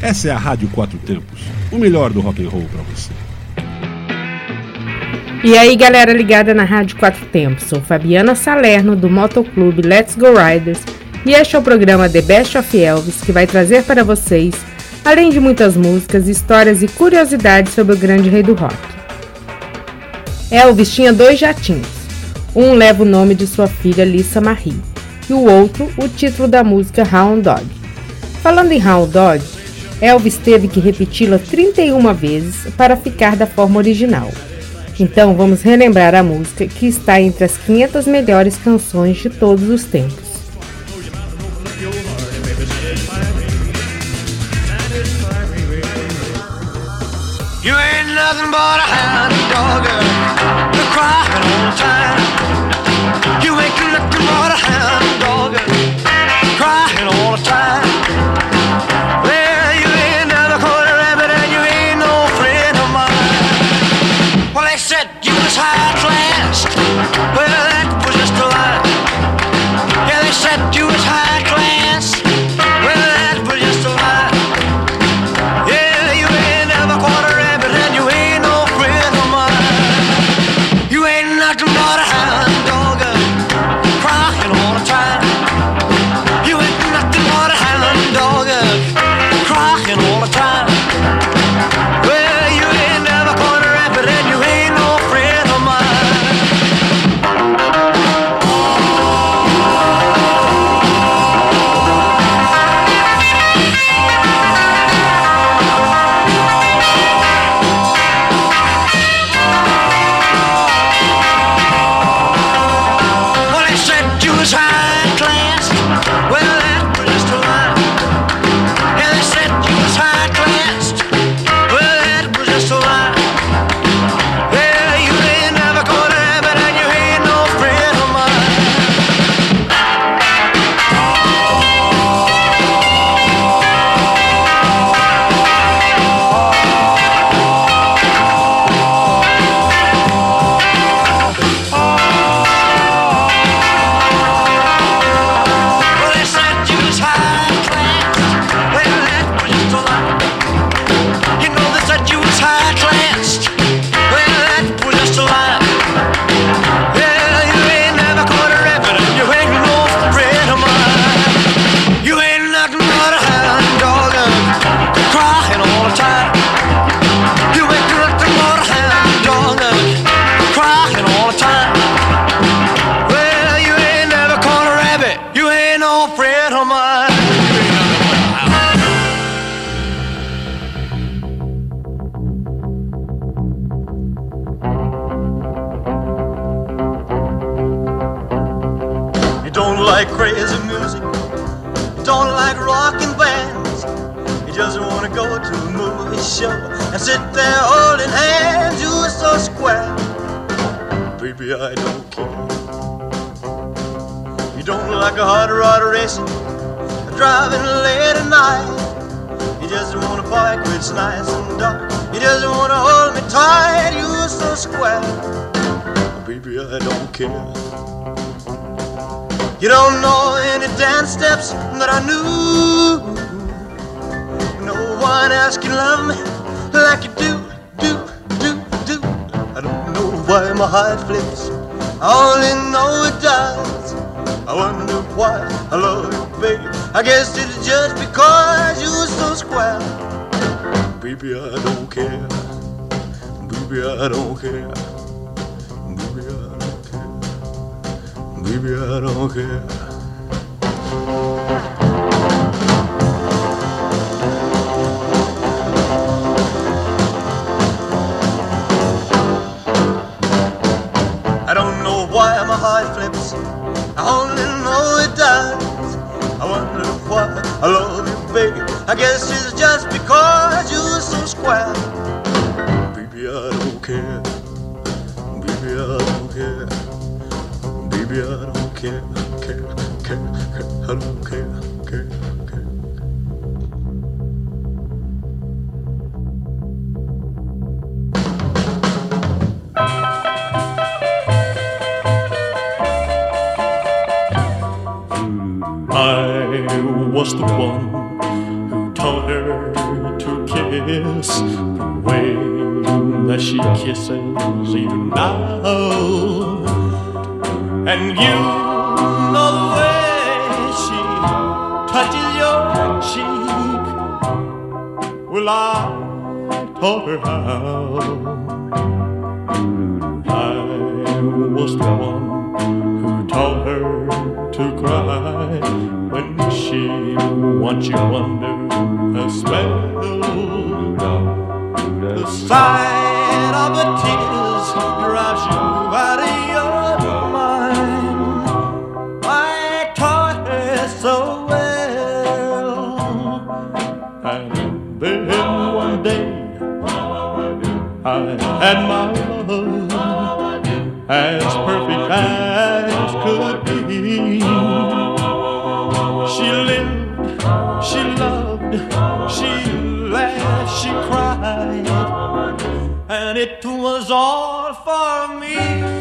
Essa é a Rádio Quatro Tempos, o melhor do rock and roll para você. E aí, galera ligada na Rádio Quatro Tempos, sou Fabiana Salerno do Motoclube Let's Go Riders e este é o programa The Best of Elvis, que vai trazer para vocês, além de muitas músicas, histórias e curiosidades sobre o grande rei do rock. Elvis tinha 2 jatinhos, um leva o nome de sua filha Lisa Marie e o outro o título da música Hound Dog. Falando em Hound Dog, Elvis teve que repeti-la 31 vezes para ficar da forma original. Então vamos relembrar a música que está entre as 500 melhores canções de todos os tempos. You ain't nothing but a hound dog, you're crying all the time. You ain't nothing but a hound dog, crying all the time. Well, you ain't never caught a rabbit and you ain't no friend of mine. Well, they said you was high class, well, that was just a lie. Yeah, they said you was high class, well, that was just a lie. Yeah, you ain't never caught a rabbit and you ain't no friend of mine. You ain't nothing but a hound dog, crying all the time. You ain't nothing but a hound dog, crying all the time. Well, you ain't never caught a rabbit and you ain't no friend of mine. Well, they said you was high class, well, that was just a lie. Yeah, they said you was high class, well, that was just a lie. Yeah, you ain't never caught a rabbit and you ain't no friend of mine. Well, they said you was high class, well, that was just a lie. You know they said you was high class, well, that was just a lie. Yeah, you ain't never caught a rabbit and you ain't no friend of mine. You ain't nothing but a hound dog, crying all the time. You ain't nothing but a hound dog, crying all the time. Well, you ain't never caught a rabbit, you ain't no friend of mine. You don't like crazy music, you don't like rockin' bands. You just wanna go to a movie show and sit there holding hands. You're so square, baby, I don't care. You don't like a hot rod racing, driving late at night. You just wanna bike where it's nice and dark. You just wanna hold me tight. You're so square, baby, I don't care. You don't know any dance steps that I knew. No one else can love me like you do. I don't know why my heart flips, I only know it does. I wonder why I love you, baby. I guess it's just because you're so square. Baby, I don't care. Baby, I don't care. Baby, I don't care. Baby, I don't care. I don't know why my heart flips, I only know it does. I wonder why I love you, baby. I guess it's just because you're so square. Baby, I don't care. Baby, I don't care. Baby, I don't care. I don't care. I was the one who taught her to kiss the way that she kisses you now. And you know the way she touches your cheek. Well, I taught her how. I was the one who taught her to cry when she wants you under her spell. The sight of the tears drives you out of your mind. I taught her so well. And then one day I had my love as perfect as could be. She lived, she loved, she laughed, she cried, and it was all for me.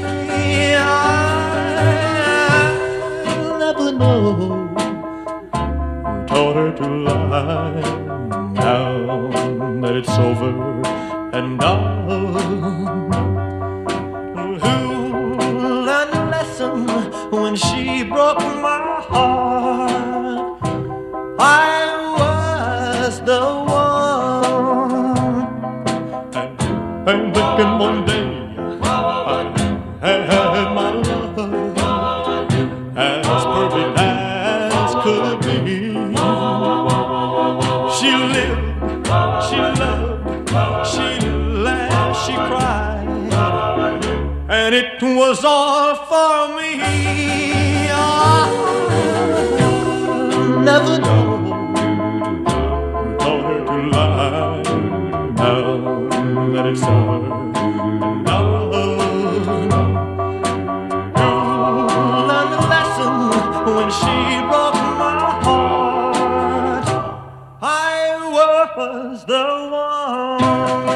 I'll never know who taught her to lie. Now that it's over and done, who learned a lesson when she broke my heart? I was the one. And then one day I had my love as perfect as could be. She lived, she loved, she laughed, she cried, and it was all for me. I'll never know who taught her to lie. Now that it's over, now who learned the lesson when she broke my heart? I was the one.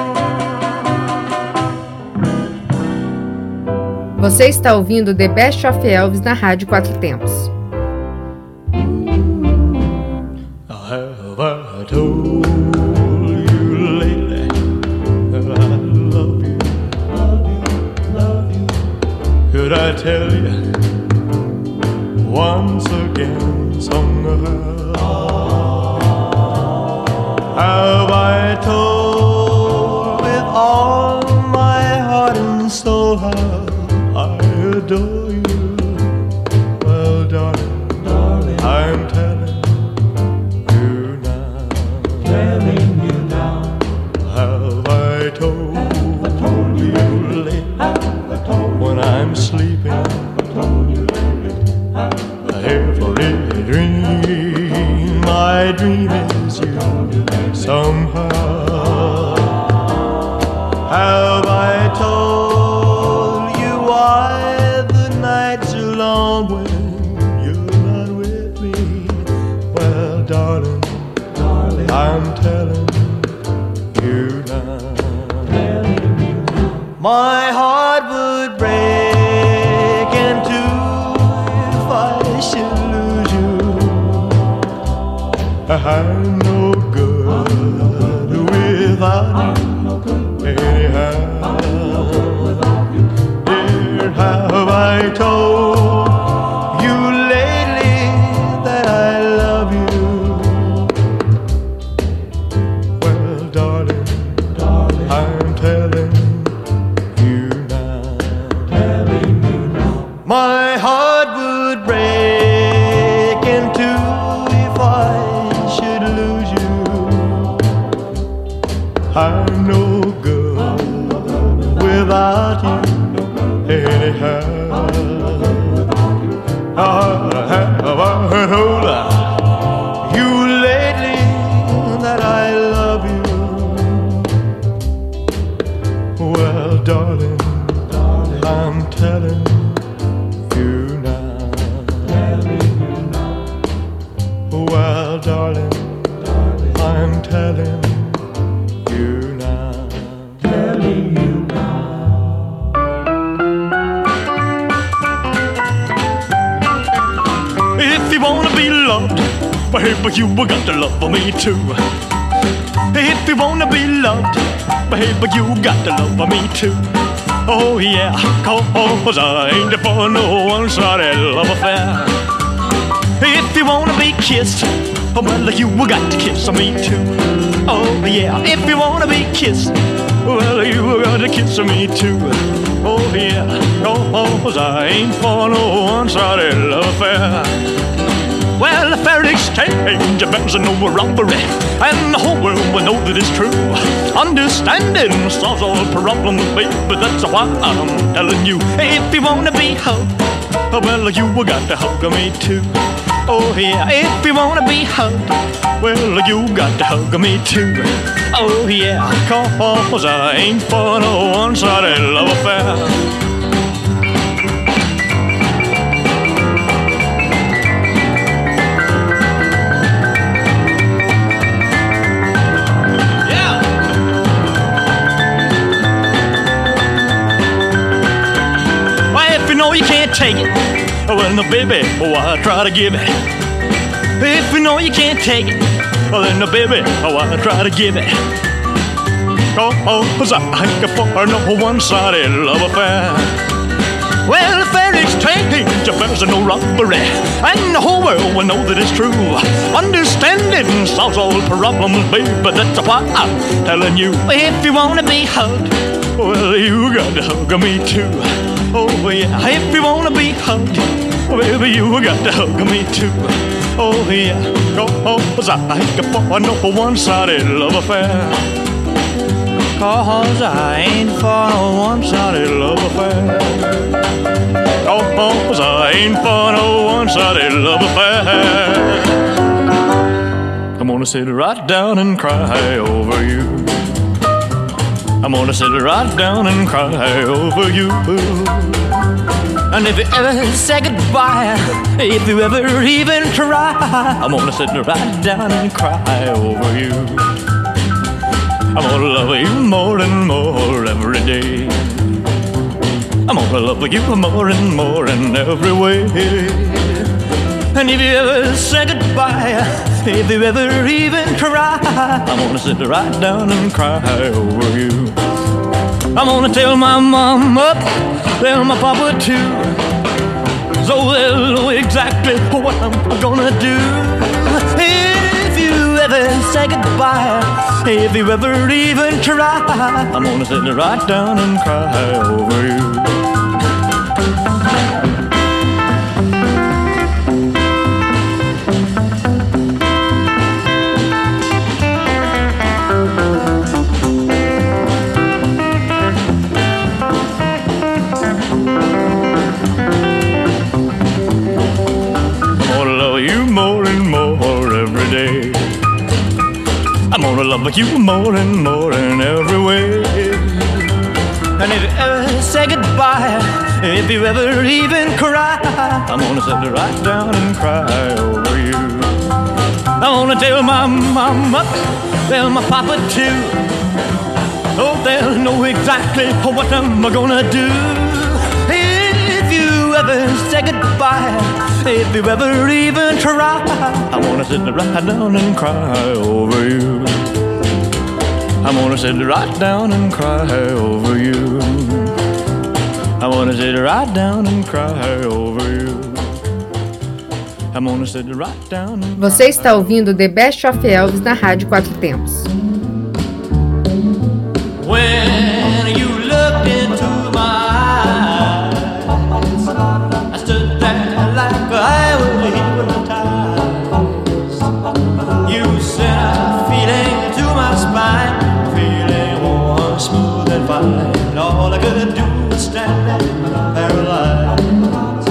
Você está ouvindo The Best of Elvis na Rádio Quatro Tempos. Have I told you lately that I love you, love you? Could I tell you once again somehow? Have I told with all my heart and soul how I adore you? Well, darling, I'm telling you now. Have I told you lately when I'm sleeping? Every dream I dream is you somehow. Have I told you why the nights are long when you're not with me? Well, darling, I'm telling you now. My heart would break in two if I should lose you. I'm no good without you anyhow. Dear, have I told you lately that I love you? Well, darling, I'm telling you now. My heart would break in two if I should lose you. I'm no good without you anyhow. Have I told you lately that I love you? Well, darling, I'm telling you now. Well, darling, I'm telling you now. If you wanna be loved, baby, you got to love me too. If you wanna be loved, baby, you got to love me too. Oh yeah, 'cause I ain't for no one-sided love affair. If you wanna be kissed, well, you got to kiss me too. Oh yeah, if you wanna be kissed, well, you got to kiss me too. Oh yeah, 'cause I ain't for no one-sided love affair. Well, a fair exchange bears no robbery, and the whole world will know that it's true. Understanding solves all problems, baby, that's why I'm telling you. If you wanna be hugged, well, you got to hug me too. Oh yeah, if you wanna be hugged, well, you got to hug me too. Oh yeah, 'cause I ain't for no one-sided love affair. You can't take it, well, no, baby, I try to give it. If you know you can't take it, well, then, no, baby, I try to give it. 'Cause I ain't for no one-sided love affair. Well, fair exchange, there's no robbery, and the whole world will know that it's true. Understanding solves all problems, baby, that's why I'm telling you. If you wanna be hugged, well, you got to hug me too. Oh yeah, if you wanna be hugged, baby, you got to hug me too. Oh yeah, 'cause I ain't for no one-sided love affair. 'Cause I ain't for no one-sided love affair. 'Cause I ain't for no one-sided love affair. I'm gonna sit right down and cry over you. I'm gonna sit right down and cry over you. And if you ever say goodbye, if you ever even try, I'm gonna sit right down and cry over you. I'm gonna love you more and more every day. I'm gonna love you more and more in every way. And if you ever say goodbye, if you ever even try, I'm gonna sit right down and cry over you. I'm gonna tell my mama, tell my papa too, so they'll know exactly what I'm gonna do. If you ever say goodbye, if you ever even try, I'm gonna sit right down and cry over you. I'm gonna love you more and more in every way. And if you ever say goodbye, if you ever even cry, I'm gonna sit right down and cry over you. I'm gonna tell my mama, tell my papa too, oh, they'll know exactly what I'm gonna do. If you ever say goodbye, if you ever even try, I'm gonna sit right down and cry over you. I'm gonna sit right down and cry over you. I'm gonna sit right down and cry over you. I'm gonna sit right down and Você está ouvindo The Best of Elvis na Rádio Quatro Tempos. When you looked into my eyes, I stood there like I was hypnotized. You sent a feeling to my spine, feeling warm, smooth and fine. All I could do was stand there paralyzed.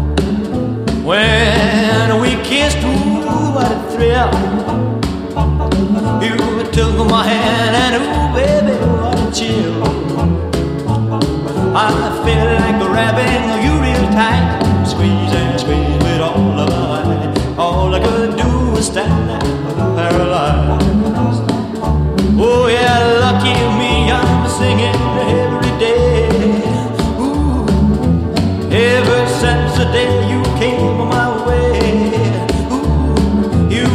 When we kissed, ooh, what a thrill. You took my hand and ooh, baby, what a chill. I feel like grabbing you real tight, squeeze and squeeze with all of my might. All I could do was stand there paralyzed. Oh yeah, lucky me, I'm singing every day. Ooh, ever since the day you came my way. Ooh, you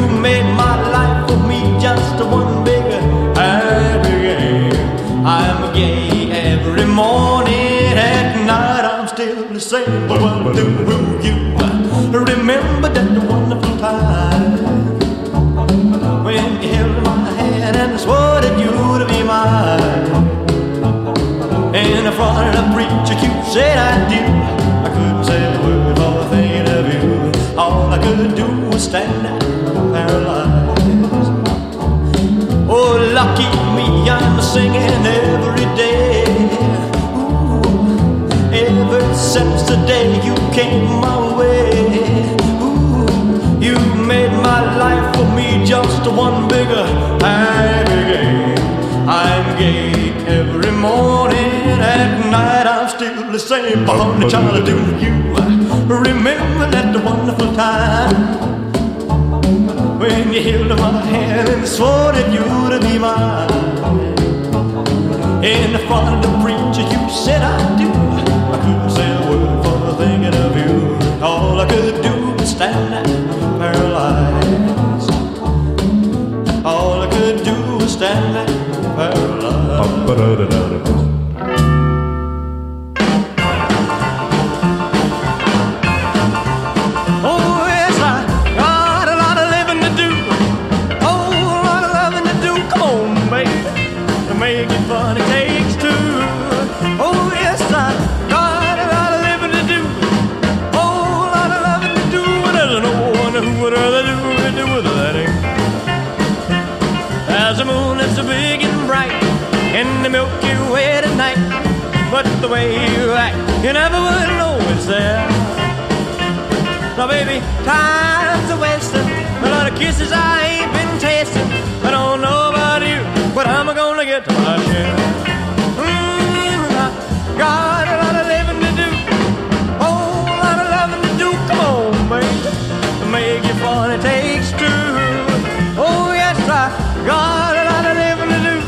preacher Q said I do. I couldn't say a word for thinking of you. All I could do was stand there paralyzed. Oh, lucky me, I'm singing every day. Ooh, ever since the day you came my way. Ooh, you made my life for me just one bigger happy game. I'm gay every morning, at night I'm still the same. Bonnie Charlie, do you remember that wonderful time when you held my hand and swore that you'd be mine? In front of the preacher you said I do. I couldn't say a word for thinking of you. All I could do was stand there paralyzed. All I could do was stand there paralyzed. In the Milky Way tonight, but the way you act, you never would know it's there. Now baby, time's a wasting, a lot of kisses I ain't been tasting. I don't know about you, but I'm gonna get to my share. I got a lot of living to do, whole lot of loving to do. Come on, baby, make it fun, it takes two. Oh yes, I got a lot of living to do.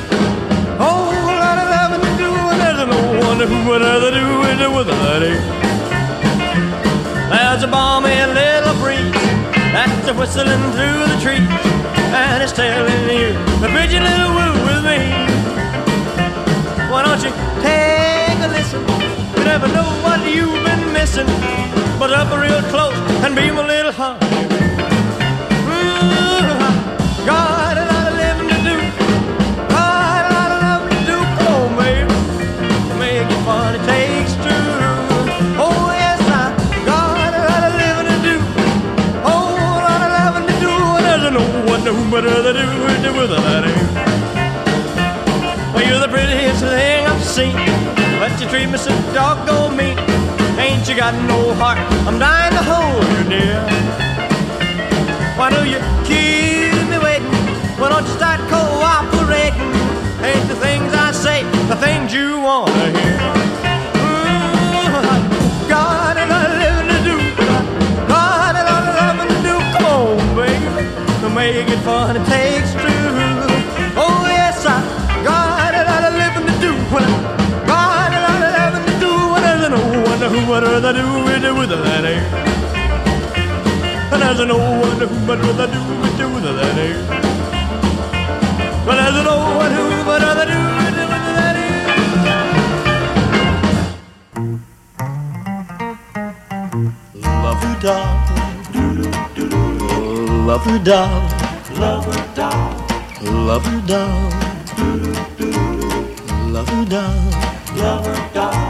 Who would rather do it with a lady? There's a balmy little breeze that's whistling through the trees, and it's telling you the pretty little woo with me. Why don't you take a listen? You never know what you've been missing, but up real close and be my little honey. Got a lot of living to do, got a lot of love to do. Come on, baby, make it fun, it takes two. Oh yes, I got a lot of living to do, whole lot of loving to do. And there's no one who better to do it with a lady. Well, you're the prettiest thing I've seen, but you treat me so doggone mean. Ain't you got no heart? I'm dying to hold you, dear. Why do you keep me waiting? Why don't you start cooperating? Ain't the things I say the things you want to hear? Got a lot of living to do, got a lot of loving to do. Come on, baby, to make it fun, it takes two. Oh yes, I got a lot of living to do, got a lot of loving to do. And there's no one who would rather do it with a lady. And there's no one who would rather do it with a lady. Well, there's no one who would rather do it with a lady. Love her doll, love her doll, love her doll, love her doll, love her doll, love her doll.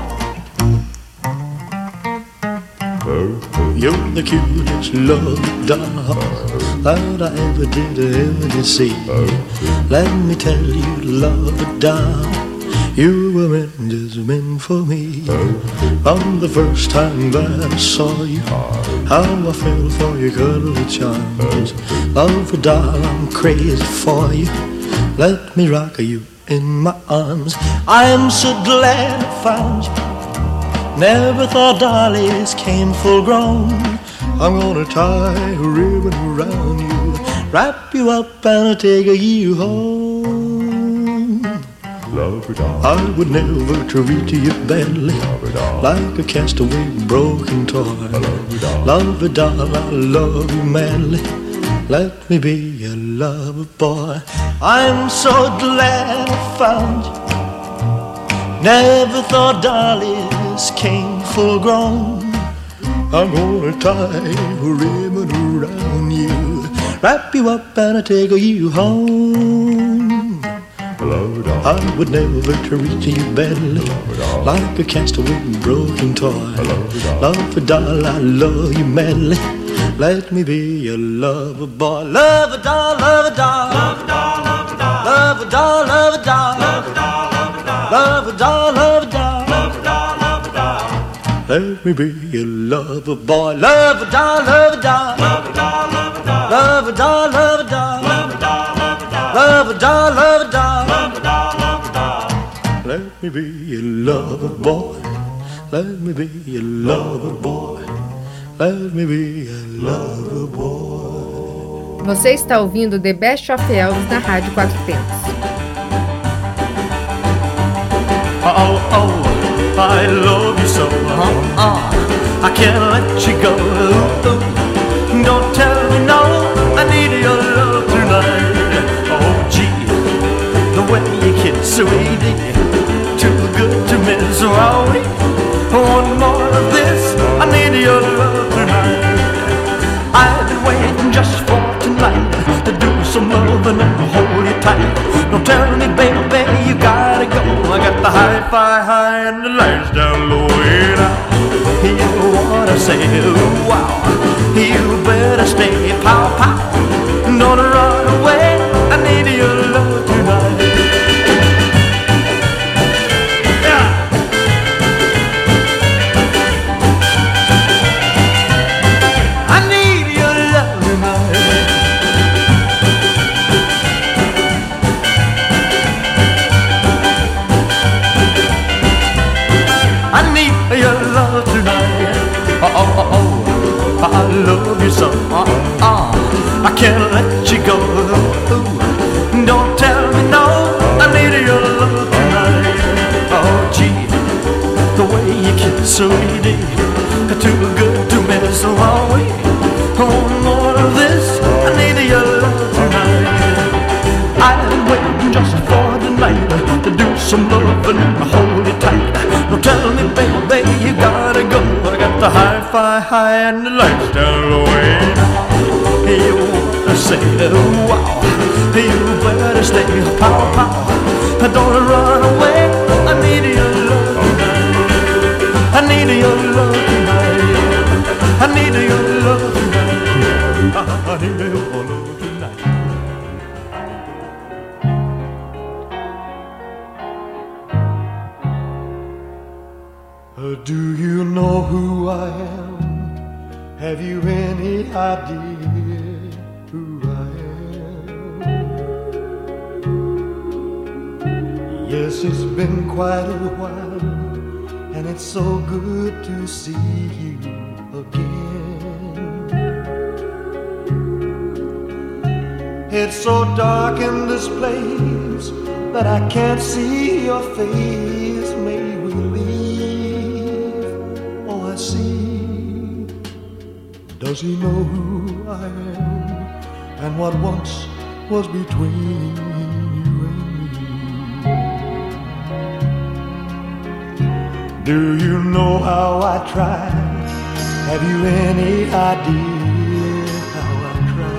You're the cutest love doll that I ever did see. Let me tell you, love doll, you were meant for me. From the first time that I saw you, how I fell for your cuddly charms. Love doll, I'm crazy for you. Let me rock you in my arms. I'm so glad I found you. Never thought dollies came full grown. I'm gonna tie a ribbon around you, wrap you up and take you home. I would never treat you badly, like a castaway broken toy. Love a doll, I love you madly. Let me be your lover boy. I'm so glad I found you. Never thought dollies came full grown. I'm gonna tie a ribbon around you, wrap you up and take you home. I would never treat you badly, like a castaway broken toy. Love a doll, I love you madly. Let me be your lover boy. Love a doll, love a doll, love a doll, love a doll, love a doll, love a doll, love a doll, love a doll, love a doll, love a doll. Let me be your lover boy. Love a doll, love a doll, love a doll, love a doll, love a doll, love a doll, love a doll, love a doll, love a doll, love a doll. Let me be your lover boy. Let me be your lover boy. Let me be your lover boy. Você está ouvindo The Best of Elvis na Rádio Quatro Tempos. Oh, oh, I love you so. I can't let you go. Don't tell me no, I need your love tonight. Oh, gee, the way you kiss, sweetie, too good to miss. Oh, one more of this, I need your love tonight. I've been waiting just for tonight to do some loving and hold you tight. Don't tell me, baby, you gotta go. I got the hi-fi high and the lights down low. And you wanna say, ooh, wow, you better stay, pow, pow. Don't run away, I need your love tonight. I love you so, I can't let you go. Don't tell me no, I need your love tonight. Oh, gee, the way you kiss, sweetie, too good to miss. Oh, one more of this, I need your love tonight. I've been waiting just for tonight to do some loving and hold it tight. Don't tell me, baby, you gotta go. I got the hi-fi high and the lights down low. You wanna say, wow, you better stay, pow, pow. Don't run away, I need your love tonight. I need your love tonight. I need your love tonight. I need your love tonight. Do you know who I am? Have you any idea who I am? Yes, it's been quite a while, and it's so good to see you again. It's so dark in this place that I can't see your face. May we leave? Oh, I see. Does he know who I am and what once was between you and me? Do you know how I tried? Have you any idea how I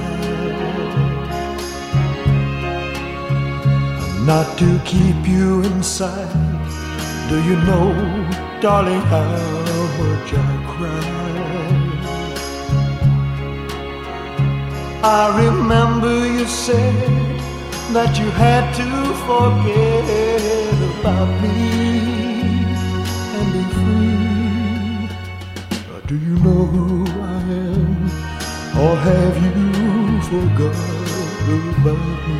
tried? Not to keep you inside. Do you know, darling, how much I cried? I remember you said that you had to forget about me and be free. Do you know who I am, or have you forgotten about me?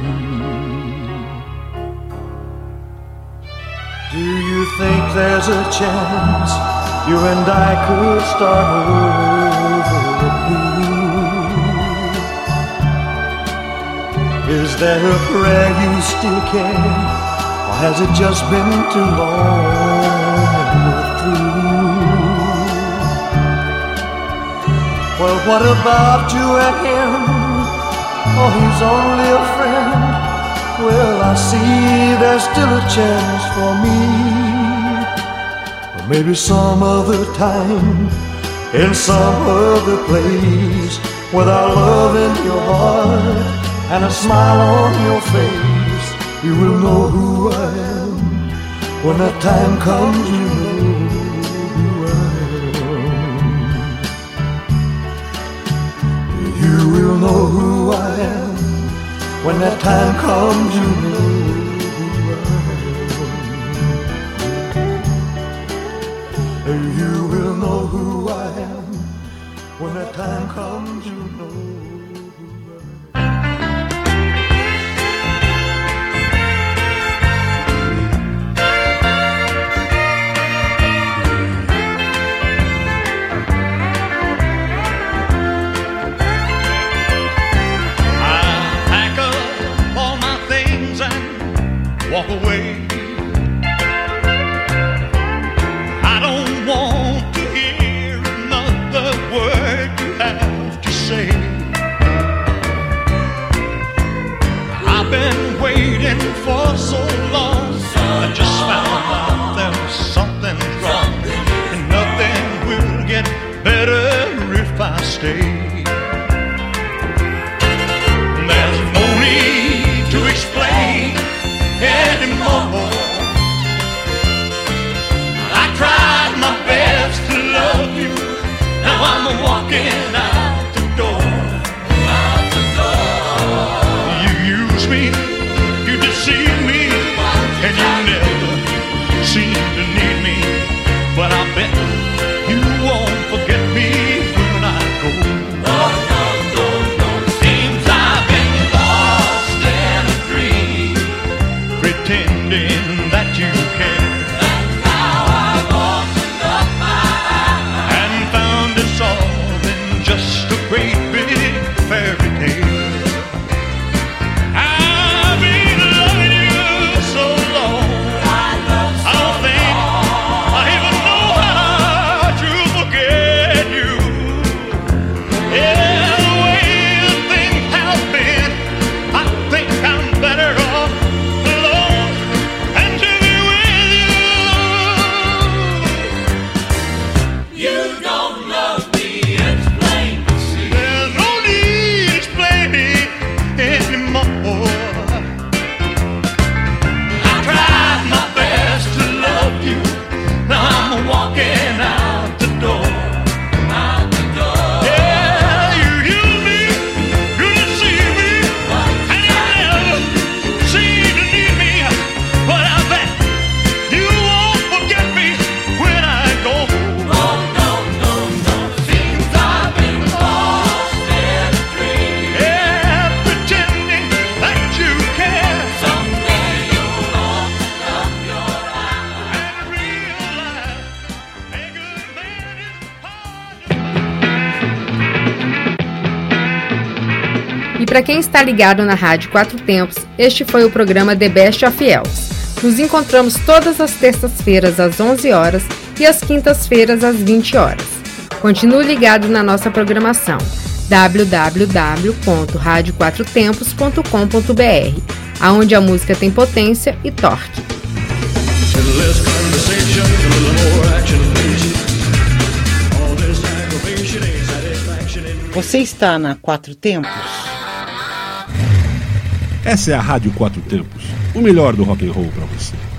Do you think there's a chance you and I could start over anew? Is there a prayer you still care, or has it just been too long and we're through? Well, what about you and him? Oh, he's only a friend. Well, I see there's still a chance for me. Or maybe some other time, in some other place, with our love in your heart and a smile on your face, You will know who I am. When that time comes, you know who I am. You will know who I am. When that time comes, you know who I am. You will know who I am. When that time comes, you know who I am. Walk away. I don't want to hear another word you have to say. I've been waiting for so long. I just found out there was something wrong, and nothing will get better if I stay. There's no need to explain anymore. I tried my best to love you. Now I'm walking out the door. Out the door. You use me, you deceive me, and you never seem to need me. But I bet you won't forget me when I go. No, no, no, no. Seems I've been lost in a dream, pretending that you care. And now I've opened up my eyes and found it's all in just a great big fairy tale. I've been loving you so long, I don't think I even know how to forget you. Yeah, the way things have been, I think I'm better off alone and to be with you. You don't love me, it's plain to see. There's no need explaining anymore. I tried my best to love you. Now I'm walking out the door. Out the door. Yeah, you use me, you deceive me, and you never seem to need me. But I bet you won't forget me when I go. Oh, no, no, no. Seems I've been lost in a dream. Yeah, pretending that you care. Someday you'll open up your eyes and realize a good man is hard. E para quem está ligado na Rádio Quatro Tempos, este foi o programa The Best of Elvis. Nos encontramos todas as terças-feiras às 11 horas e às quintas-feiras às 20 horas. Continue ligado na nossa programação www.radioquatrotempos.com.br, aonde a música tem potência e torque. Less conversation, a little more action, please. All this aggravation ain't satisfaction in me. Você está na Quatro Tempos? Essa é a Rádio Quatro Tempos, o melhor do rock and roll para você.